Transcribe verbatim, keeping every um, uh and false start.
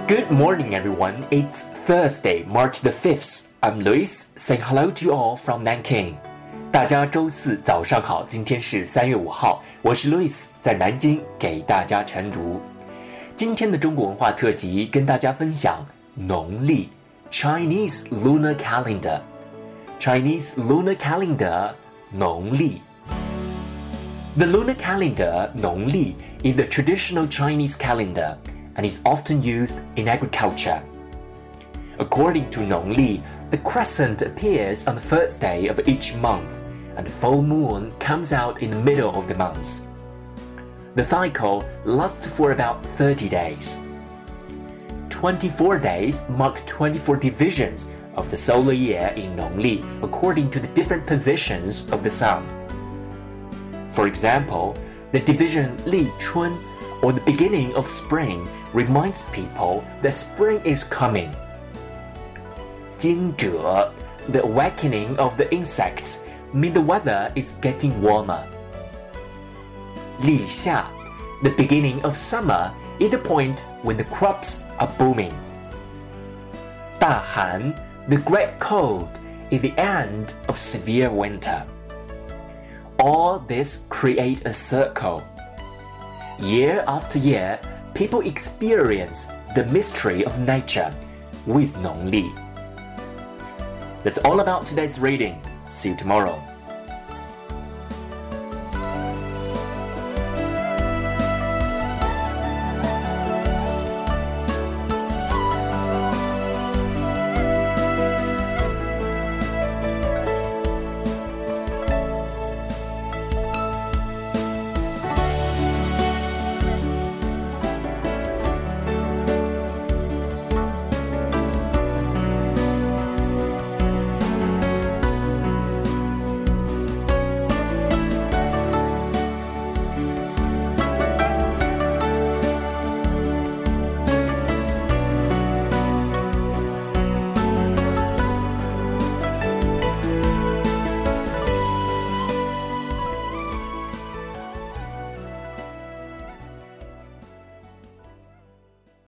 Good morning, everyone. It's Thursday, March the fifth. I'm Luis, saying hello to you all from Nanking. 大家周四早上好，今天是三月五号，我是 Luis， 在南京给大家晨读。今天的中国文化特辑跟大家分享农历 Chinese Lunar Calendar Chinese Lunar Calendar 农历 The lunar calendar 农历 is the traditional Chinese calendar and is often used in agriculture. According to 农历, the crescent appears on the first day of each month, and the full moon comes out in the middle of the month. The cycle lasts for about thirty days. twenty-four days mark twenty-four divisions of the solar year in 农历 according to the different positions of the sun. For example, the division 立春, or the beginning of spring, reminds people that spring is coming. 惊蛰, the awakening of the insects, mean the weather is getting warmer. 立夏, the beginning of summer, is the point when the crops are booming. 大寒, the great cold, is the end of severe winter. All this create a circle. Year after year, people experience the mystery of nature with 农历. That's all about today's reading. See you tomorrow.